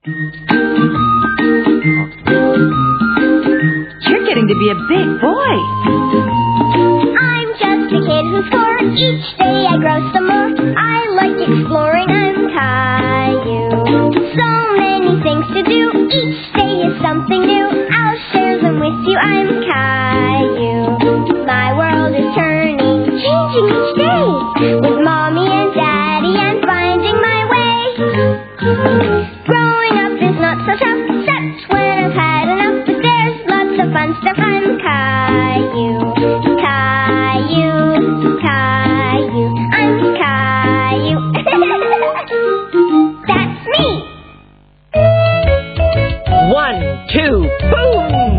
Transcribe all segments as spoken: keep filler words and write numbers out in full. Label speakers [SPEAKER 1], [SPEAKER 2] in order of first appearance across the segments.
[SPEAKER 1] You're getting to be a big boy.
[SPEAKER 2] I'm just a kid who's four. Each day I grow some more. I like exploring. I'm Caillou. So many things to do. Each day is something new. I'll share them with you. I'm Caillou. My world is turning, changing each day. With Mommy and Daddy, I'm finding my way. Growing up is not so tough, except when I've had enough. But there's lots of fun stuff. I'm Caillou, Caillou, Caillou. I'm Caillou. That's me.
[SPEAKER 3] One, two, boom!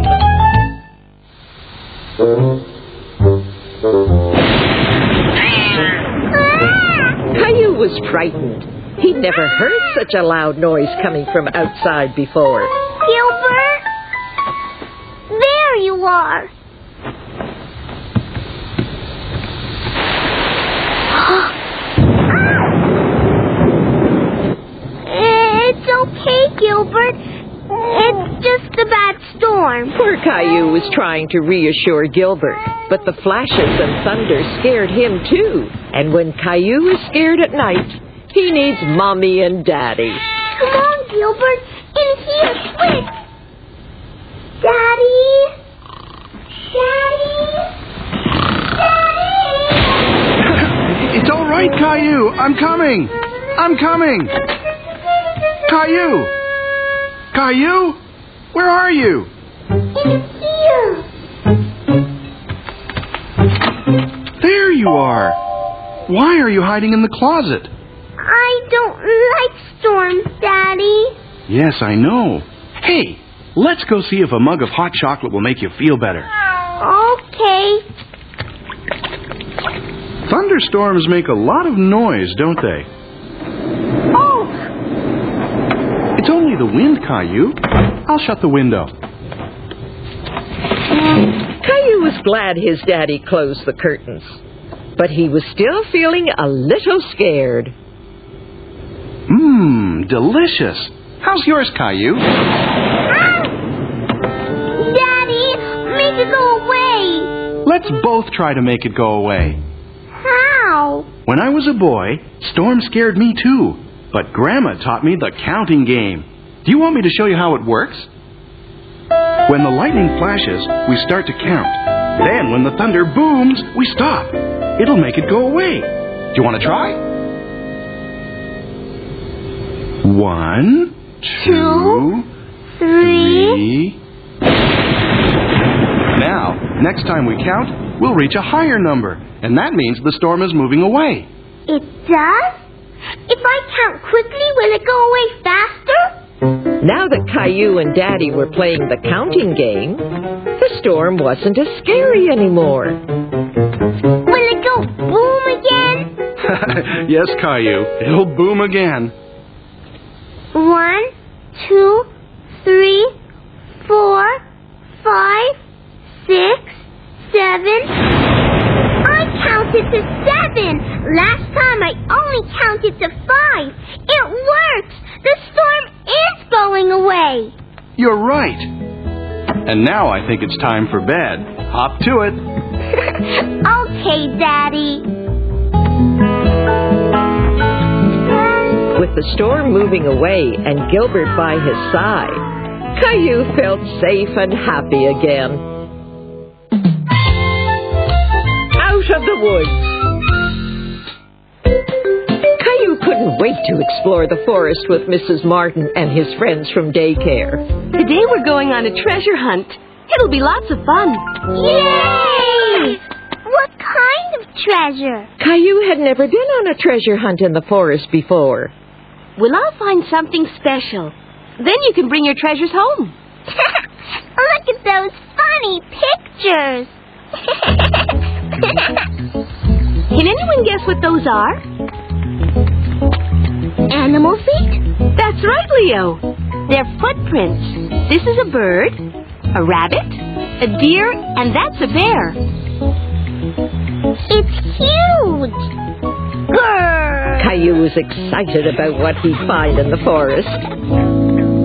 [SPEAKER 3] Caillou was frightened. He'd never heard such a loud noise coming from outside before.
[SPEAKER 2] Gilbert? There you are. It's okay, Gilbert. It's just a bad storm.
[SPEAKER 3] Poor Caillou was trying to reassure Gilbert, but the flashes and thunder scared him too. And when Caillou is scared at night, he needs Mommy and Daddy.
[SPEAKER 2] Come on, Gilbert. In here, quick. Daddy? Daddy? Daddy?
[SPEAKER 4] It's all right, Caillou. I'm coming. I'm coming. Caillou. Caillou? Where are you?
[SPEAKER 2] In here.
[SPEAKER 4] There you are. Why are you hiding in the closet?
[SPEAKER 2] I don't like storms, Daddy.
[SPEAKER 4] Yes, I know. Hey, let's go see if a mug of hot chocolate will make you feel better.
[SPEAKER 2] Okay.
[SPEAKER 4] Thunderstorms make a lot of noise, don't they?
[SPEAKER 2] Oh,
[SPEAKER 4] It's only the wind, Caillou. I'll shut the window.
[SPEAKER 3] Caillou was glad his daddy closed the curtains, but he was still feeling a little scared.
[SPEAKER 4] Mmm, delicious. How's yours, Caillou?
[SPEAKER 2] Daddy, make it go away.
[SPEAKER 4] Let's both try to make it go away.
[SPEAKER 2] How?
[SPEAKER 4] When I was a boy, storms scared me too. But Grandma taught me the counting game. Do you want me to show you how it works? When the lightning flashes, we start to count. Then when the thunder booms, we stop. It'll make it go away. Do you want to try? One, two,
[SPEAKER 2] Three.
[SPEAKER 4] three. Now, next time we count, we'll reach a higher number. And that means the storm is moving away.
[SPEAKER 2] It does? If I count quickly, will it go away faster?
[SPEAKER 3] Now that Caillou and Daddy were playing the counting game, the storm wasn't as scary anymore.
[SPEAKER 2] Will it go boom again?
[SPEAKER 4] Yes, Caillou. It'll boom again.
[SPEAKER 2] One, two, three, four, five, six, seven. I counted to seven. Last time I only counted to five. It works. The storm is going away.
[SPEAKER 4] You're right. And now I think it's time for bed. Hop to it.
[SPEAKER 2] Okay, Daddy.
[SPEAKER 3] With the storm moving away and Gilbert by his side, Caillou felt safe and happy again. Out of the woods. Caillou couldn't wait to explore the forest with Missus Martin and his friends from daycare.
[SPEAKER 1] Today we're going on a treasure hunt. It'll be lots of fun.
[SPEAKER 2] Yay! What kind of treasure?
[SPEAKER 3] Caillou had never been on a treasure hunt in the forest before.
[SPEAKER 1] Well, I'll find something special. Then you can bring your treasures home.
[SPEAKER 2] Look at those funny pictures.
[SPEAKER 1] Can anyone guess what those are?
[SPEAKER 2] Animal feet?
[SPEAKER 1] That's right, Leo. They're footprints. This is a bird, a rabbit, a deer, and that's a bear.
[SPEAKER 2] It's huge. Grrr.
[SPEAKER 3] Caillou was excited about what he'd find in the forest.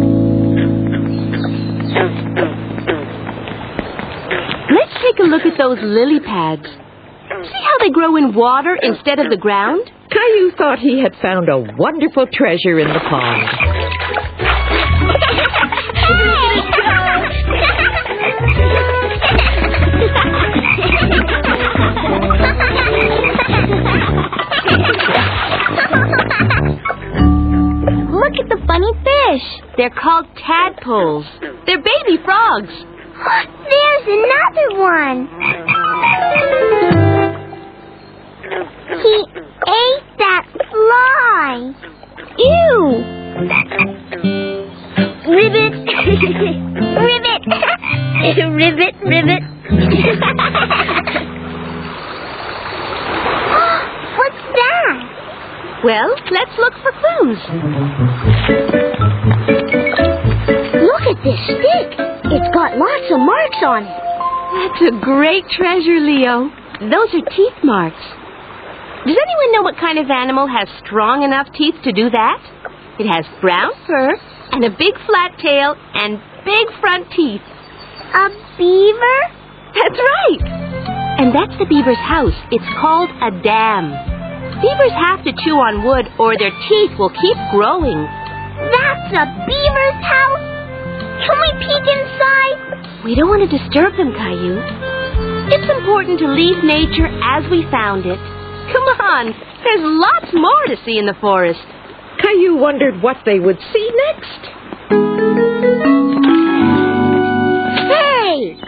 [SPEAKER 1] those lily pads. See how they grow in water instead of the ground?
[SPEAKER 3] Caillou thought he had found a wonderful treasure in the pond.
[SPEAKER 2] Look at the funny fish.
[SPEAKER 1] They're called tadpoles. They're baby frogs.
[SPEAKER 2] There's another one. He ate that fly. Ew. Ribbit. Ribbit. Ribbit, ribbit. What's that?
[SPEAKER 1] Well, let's look for clues.
[SPEAKER 2] Look at this stick. It's got lots of marks on it.
[SPEAKER 1] That's a great treasure, Leo. Those are teeth marks. Does anyone know what kind of animal has strong enough teeth to do that? It has brown fur and a big flat tail and big front teeth.
[SPEAKER 2] A beaver?
[SPEAKER 1] That's right. And that's the beaver's house. It's called a dam. Beavers have to chew on wood or their teeth will keep growing.
[SPEAKER 2] That's a beaver's house? Can we peek inside?
[SPEAKER 1] We don't want to disturb them, Caillou. It's important to leave nature as we found it. Come on, there's lots more to see in the forest.
[SPEAKER 3] Caillou wondered what they would see next.
[SPEAKER 1] Hey!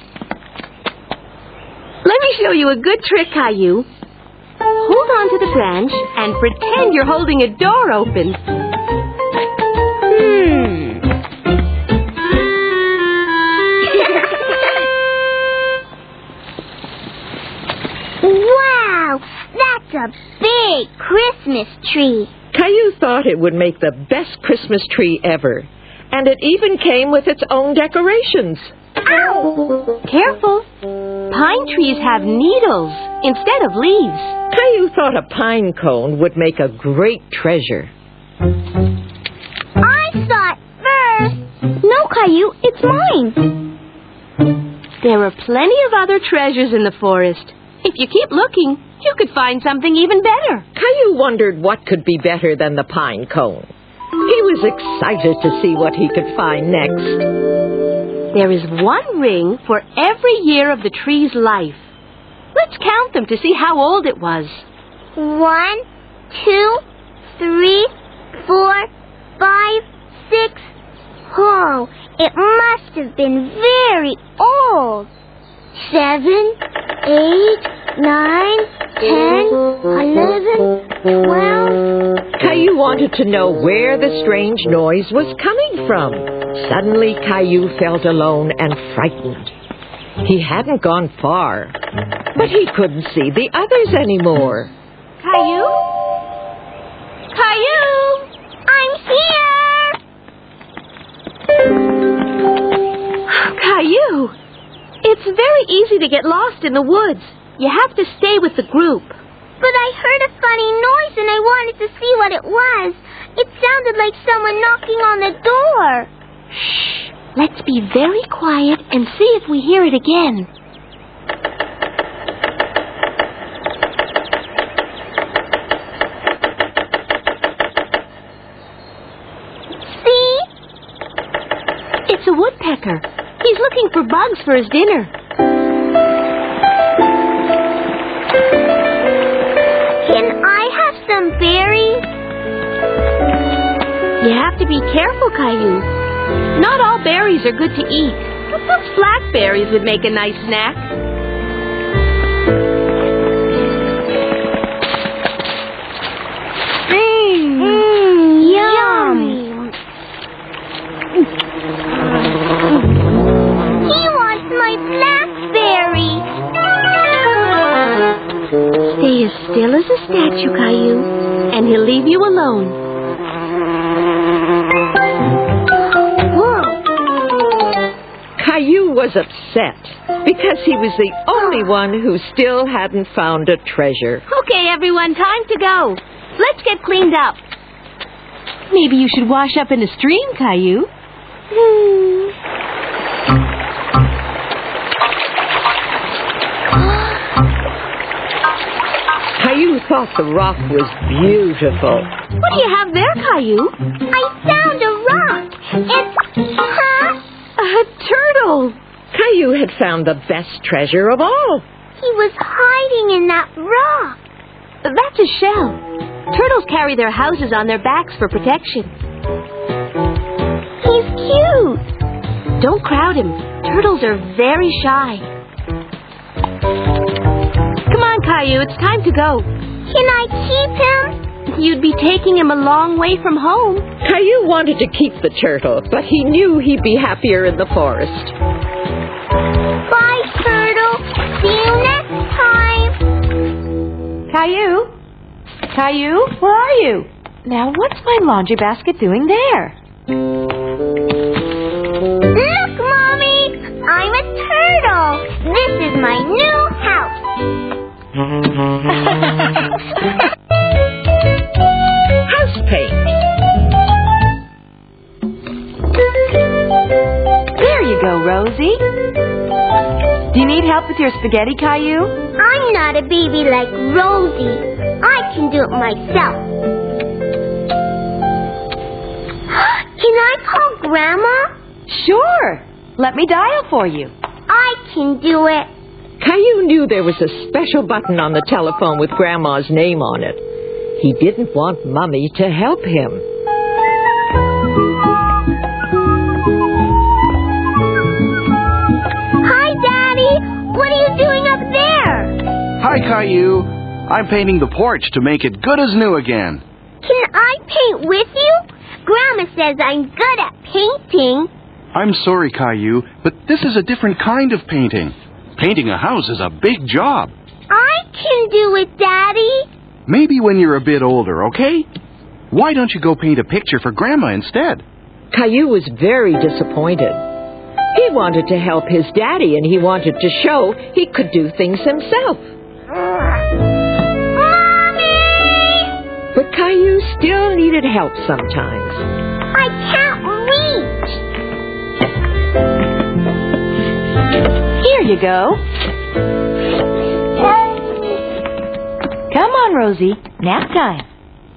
[SPEAKER 1] Let me show you a good trick, Caillou. Hold on to the branch and pretend you're holding a door open. Hmm.
[SPEAKER 2] Wow, that's a big Christmas tree.
[SPEAKER 3] Caillou thought it would make the best Christmas tree ever. And it even came with its own decorations.
[SPEAKER 2] Ow!
[SPEAKER 1] Careful. Pine trees have needles instead of leaves.
[SPEAKER 3] Caillou thought a pine cone would make a great treasure.
[SPEAKER 2] I saw it first. No, Caillou, it's mine.
[SPEAKER 1] There are plenty of other treasures in the forest. If you keep looking, you could find something even better.
[SPEAKER 3] Caillou wondered what could be better than the pine cone. He was excited to see what he could find next.
[SPEAKER 1] There is one ring for every year of the tree's life. Let's count them to see how old it was.
[SPEAKER 2] One, two, three, four, five, six. Oh, it must have been very old. Seven, eight, nine, ten, eleven, twelve.
[SPEAKER 3] Caillou wanted to know where the strange noise was coming from. Suddenly, Caillou felt alone and frightened. He hadn't gone far, but he couldn't see the others anymore.
[SPEAKER 1] Caillou? Caillou!
[SPEAKER 2] I'm here!
[SPEAKER 1] Caillou! It's very easy to get lost in the woods. You have to stay with the group.
[SPEAKER 2] But I heard a funny noise and I wanted to see what it was. It sounded like someone knocking on the door.
[SPEAKER 1] Shh. Let's be very quiet and see if we hear it again.
[SPEAKER 2] See?
[SPEAKER 1] It's a woodpecker. He's looking for bugs for his dinner.
[SPEAKER 2] Can I have some berries?
[SPEAKER 1] You have to be careful, Caillou. Not all berries are good to eat. Blackberries would make a nice snack.
[SPEAKER 2] Mmm, mm, yum. He wants my blackberry.
[SPEAKER 1] Stay as still as a statue, Caillou, and he'll leave you alone.
[SPEAKER 3] Caillou was upset because he was the only one who still hadn't found a treasure.
[SPEAKER 1] Okay, everyone, time to go. Let's get cleaned up. Maybe you should wash up in a stream, Caillou.
[SPEAKER 2] Hmm.
[SPEAKER 3] thought the rock was beautiful.
[SPEAKER 1] What do you have there, Caillou?
[SPEAKER 2] I found a rock. It's, huh?
[SPEAKER 1] A turtle.
[SPEAKER 3] Caillou had found the best treasure of all.
[SPEAKER 2] He was hiding in that rock.
[SPEAKER 1] That's a shell. Turtles carry their houses on their backs for protection.
[SPEAKER 2] He's cute.
[SPEAKER 1] Don't crowd him. Turtles are very shy. Come on, Caillou, it's time to go.
[SPEAKER 2] Can I keep him?
[SPEAKER 1] You'd be taking him a long way from home.
[SPEAKER 3] Caillou wanted to keep the turtle, but he knew he'd be happier in the forest.
[SPEAKER 2] Bye, turtle. See you next time.
[SPEAKER 1] Caillou? Caillou, where are you? Now, what's my laundry basket doing there?
[SPEAKER 2] Look, Mommy! I'm a turtle. This is my new house.
[SPEAKER 3] House paint.
[SPEAKER 1] There you go, Rosie. Do you need help with your spaghetti, Caillou?
[SPEAKER 2] I'm not a baby like Rosie. I can do it myself. Can I call Grandma?
[SPEAKER 1] Sure. Let me dial for you.
[SPEAKER 2] I can do it.
[SPEAKER 3] Caillou knew there was a special button on the telephone with Grandma's name on it. He didn't want Mummy to help him.
[SPEAKER 2] Hi, Daddy. What are you doing up there?
[SPEAKER 4] Hi, Caillou. I'm painting the porch to make it good as new again.
[SPEAKER 2] Can I paint with you? Grandma says I'm good at painting.
[SPEAKER 4] I'm sorry, Caillou, but this is a different kind of painting. Painting a house is a big job.
[SPEAKER 2] I can do it, Daddy.
[SPEAKER 4] Maybe when you're a bit older, okay? Why don't you go paint a picture for Grandma instead?
[SPEAKER 3] Caillou was very disappointed. He wanted to help his daddy, and he wanted to show he could do things himself.
[SPEAKER 2] Mommy!
[SPEAKER 3] But Caillou still needed help sometimes.
[SPEAKER 2] I can't reach.
[SPEAKER 1] Here you go. Come on, Rosie. Nap time.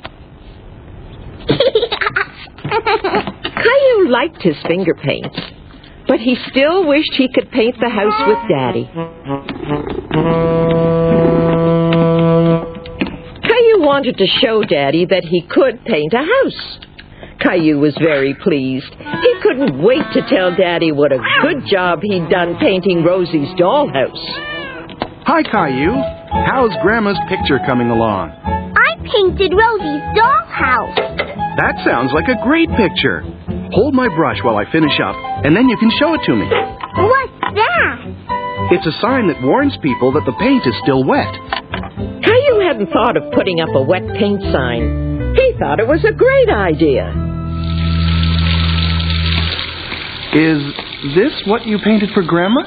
[SPEAKER 3] Caillou liked his finger paints, but he still wished he could paint the house with Daddy. Caillou wanted to show Daddy that he could paint a house. Caillou was very pleased. He couldn't wait to tell Daddy what a good job he'd done painting Rosie's dollhouse.
[SPEAKER 4] Hi, Caillou. How's Grandma's picture coming along?
[SPEAKER 2] I painted Rosie's dollhouse.
[SPEAKER 4] That sounds like a great picture. Hold my brush while I finish up, and then you can show it to me.
[SPEAKER 2] What's that?
[SPEAKER 4] It's a sign that warns people that the paint is still wet.
[SPEAKER 3] Caillou hadn't thought of putting up a wet paint sign. He thought it was a great idea.
[SPEAKER 4] Is this what you painted for Grandma?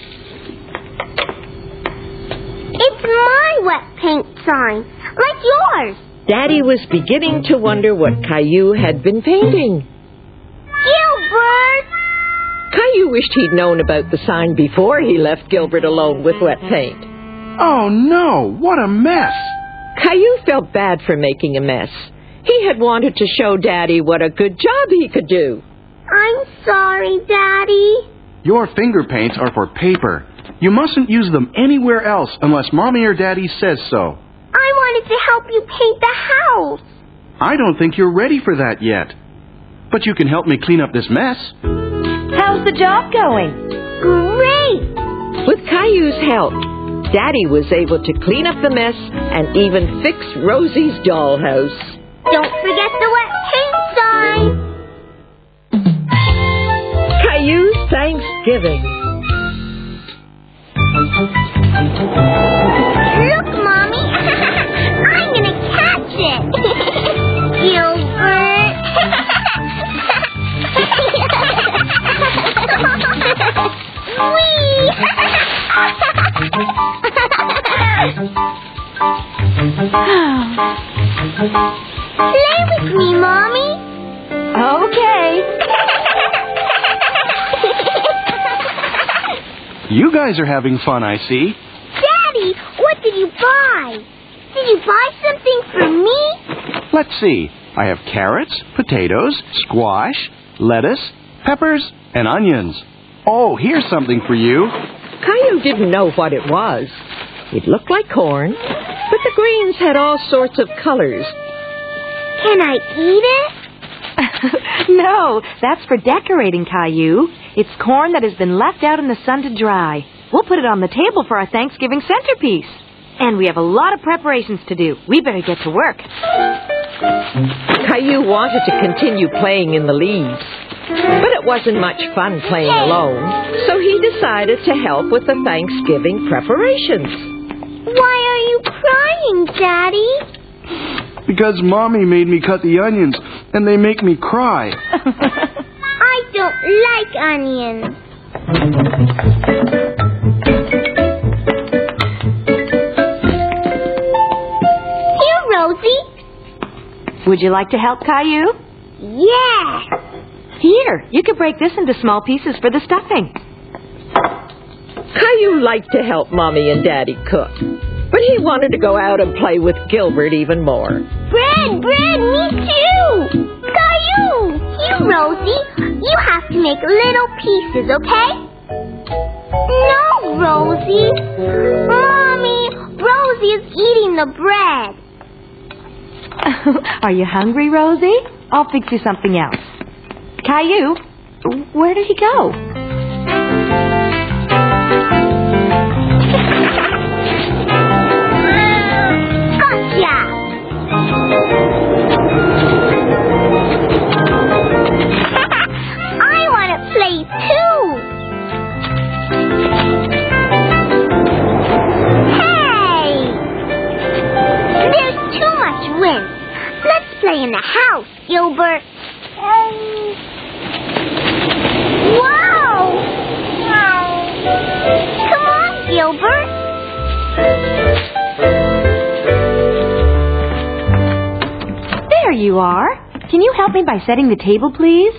[SPEAKER 2] It's my wet paint sign, like yours.
[SPEAKER 3] Daddy was beginning to wonder what Caillou had been painting.
[SPEAKER 2] Gilbert!
[SPEAKER 3] Caillou wished he'd known about the sign before he left Gilbert alone with wet paint.
[SPEAKER 4] Oh, no! What a mess!
[SPEAKER 3] Caillou felt bad for making a mess. He had wanted to show Daddy what a good job he could do.
[SPEAKER 2] I'm sorry, Daddy.
[SPEAKER 4] Your finger paints are for paper. You mustn't use them anywhere else unless Mommy or Daddy says so.
[SPEAKER 2] I wanted to help you paint the house.
[SPEAKER 4] I don't think you're ready for that yet. But you can help me clean up this mess.
[SPEAKER 1] How's the job going?
[SPEAKER 2] Great.
[SPEAKER 3] With Caillou's help, Daddy was able to clean up the mess and even fix Rosie's dollhouse.
[SPEAKER 2] Don't forget the wet paint sign.
[SPEAKER 3] Caillou's Thanksgiving.
[SPEAKER 2] Look, Mommy. I'm going to catch it. Gilbert. Whee! Play with me, Mommy.
[SPEAKER 1] Okay.
[SPEAKER 4] You guys are having fun, I see.
[SPEAKER 2] Daddy, what did you buy? Did you buy something for me?
[SPEAKER 4] Let's see. I have carrots, potatoes, squash, lettuce, peppers, and onions. Oh, here's something for you.
[SPEAKER 3] Caillou didn't know what it was. It looked like corn, but the greens had all sorts of colors.
[SPEAKER 2] Can I eat it?
[SPEAKER 5] No, that's for decorating, Caillou. It's corn that has been left out in the sun to dry. We'll put it on the table for our Thanksgiving centerpiece. And we have a lot of preparations to do. We better get to work.
[SPEAKER 3] Caillou wanted to continue playing in the leaves, but it wasn't much fun playing alone, so he decided to help with the Thanksgiving preparations.
[SPEAKER 2] Why are you crying, Daddy?
[SPEAKER 4] Because Mommy made me cut the onions, and they make me cry.
[SPEAKER 2] I don't like onions. Here, Rosie.
[SPEAKER 5] Would you like to help, Caillou?
[SPEAKER 2] Yeah.
[SPEAKER 5] Here, you could break this into small pieces for the stuffing.
[SPEAKER 3] Caillou liked to help Mommy and Daddy cook, but he wanted to go out and play with Gilbert even more.
[SPEAKER 2] Bread, bread, me too. Caillou. Here, Rosie. You have to make little pieces, okay? No, Rosie. Mommy, Rosie is eating the bread.
[SPEAKER 5] Are you hungry, Rosie? I'll fix you something else. Caillou, where did he go?
[SPEAKER 2] Gotcha! I want to play too! Hey! There's too much wind. Let's play in the house, Gilbert. Wow! Come on, Gilbert.
[SPEAKER 5] There you are. Can you help me by setting the table, please?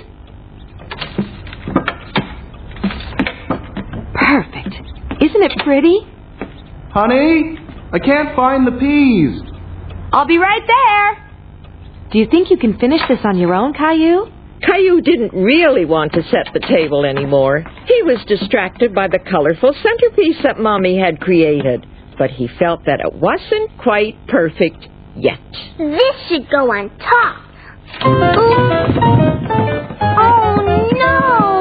[SPEAKER 5] Perfect. Isn't it pretty?
[SPEAKER 4] Honey, I can't find the peas.
[SPEAKER 5] I'll be right there. Do you think you can finish this on your own, Caillou?
[SPEAKER 3] Caillou didn't really want to set the table anymore. He was distracted by the colorful centerpiece that Mommy had created, but he felt that it wasn't quite perfect yet.
[SPEAKER 2] This should go on top. Ooh. Oh, no!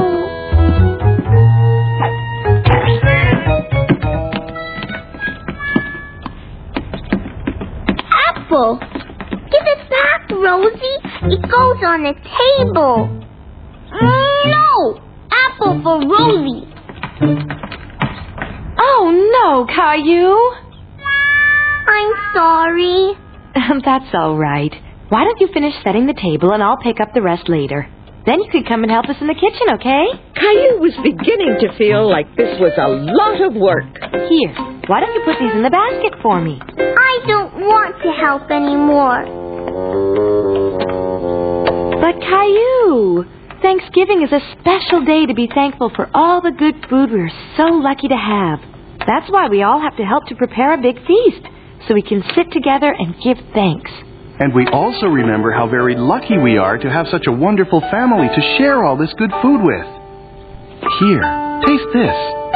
[SPEAKER 2] Apple! Give it back, Rosie. It goes on the table. No! Apple for Rosie.
[SPEAKER 5] Oh, no, Caillou.
[SPEAKER 2] I'm sorry.
[SPEAKER 5] That's all right. Why don't you finish setting the table and I'll pick up the rest later. Then you could come and help us in the kitchen, okay?
[SPEAKER 3] Caillou was beginning to feel like this was a lot of work.
[SPEAKER 5] Here, why don't you put these in the basket for me?
[SPEAKER 2] I don't want to help anymore.
[SPEAKER 5] But Caillou, Thanksgiving is a special day to be thankful for all the good food we're so lucky to have. That's why we all have to help to prepare a big feast, so we can sit together and give thanks.
[SPEAKER 4] And we also remember how very lucky we are to have such a wonderful family to share all this good food with. Here, taste this.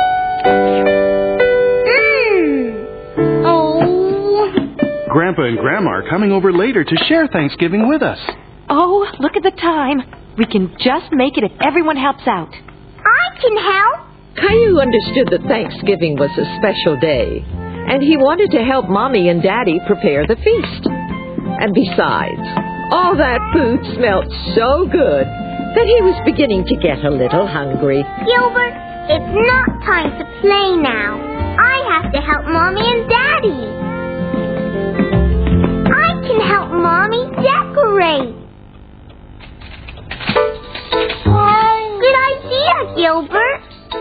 [SPEAKER 2] Mmm. Oh.
[SPEAKER 4] Grandpa and Grandma are coming over later to share Thanksgiving with us.
[SPEAKER 5] Oh, look at the time. We can just make it if everyone helps out.
[SPEAKER 2] I can help.
[SPEAKER 3] Caillou understood that Thanksgiving was a special day, and he wanted to help Mommy and Daddy prepare the feast. And besides, all that food smelled so good that he was beginning to get a little hungry.
[SPEAKER 2] Gilbert, it's not time to play now. I have to help Mommy and Daddy. I can help Mommy decorate. Good idea, Gilbert.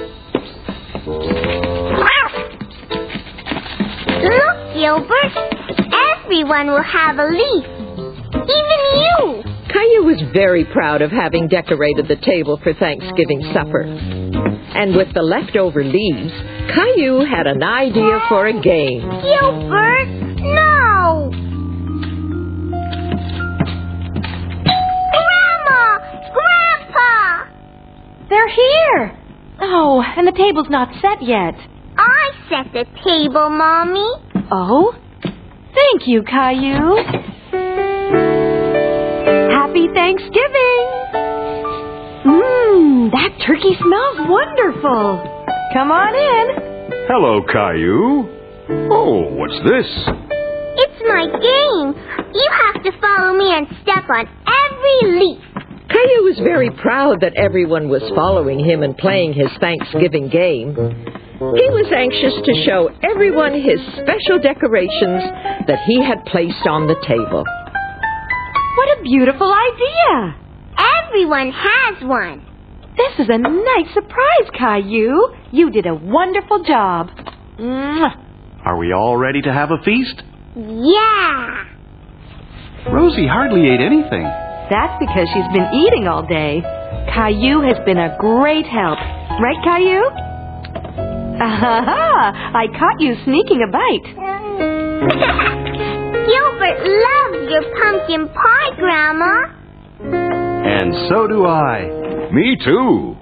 [SPEAKER 2] Look, Gilbert. Everyone will have a leaf. Even you.
[SPEAKER 3] Caillou was very proud of having decorated the table for Thanksgiving supper. And with the leftover leaves, Caillou had an idea for a game.
[SPEAKER 2] Gilbert, no.
[SPEAKER 5] They're here. Oh, and the table's not set yet.
[SPEAKER 2] I set the table, Mommy.
[SPEAKER 5] Oh? Thank you, Caillou. Happy Thanksgiving. Mmm, that turkey smells wonderful. Come on in.
[SPEAKER 6] Hello, Caillou. Oh, what's this?
[SPEAKER 2] It's my game. You have to follow me and step on every leaf.
[SPEAKER 3] Caillou was very proud that everyone was following him and playing his Thanksgiving game. He was anxious to show everyone his special decorations that he had placed on the table.
[SPEAKER 5] What a beautiful idea.
[SPEAKER 2] Everyone has one.
[SPEAKER 5] This is a nice surprise, Caillou. You did a wonderful job. Mwah.
[SPEAKER 4] Are we all ready to have a feast?
[SPEAKER 2] Yeah.
[SPEAKER 4] Rosie hardly ate anything.
[SPEAKER 5] That's because she's been eating all day. Caillou has been a great help. Right, Caillou? Aha! I caught you sneaking a bite.
[SPEAKER 2] Gilbert loves your pumpkin pie, Grandma.
[SPEAKER 4] And so do I.
[SPEAKER 6] Me too.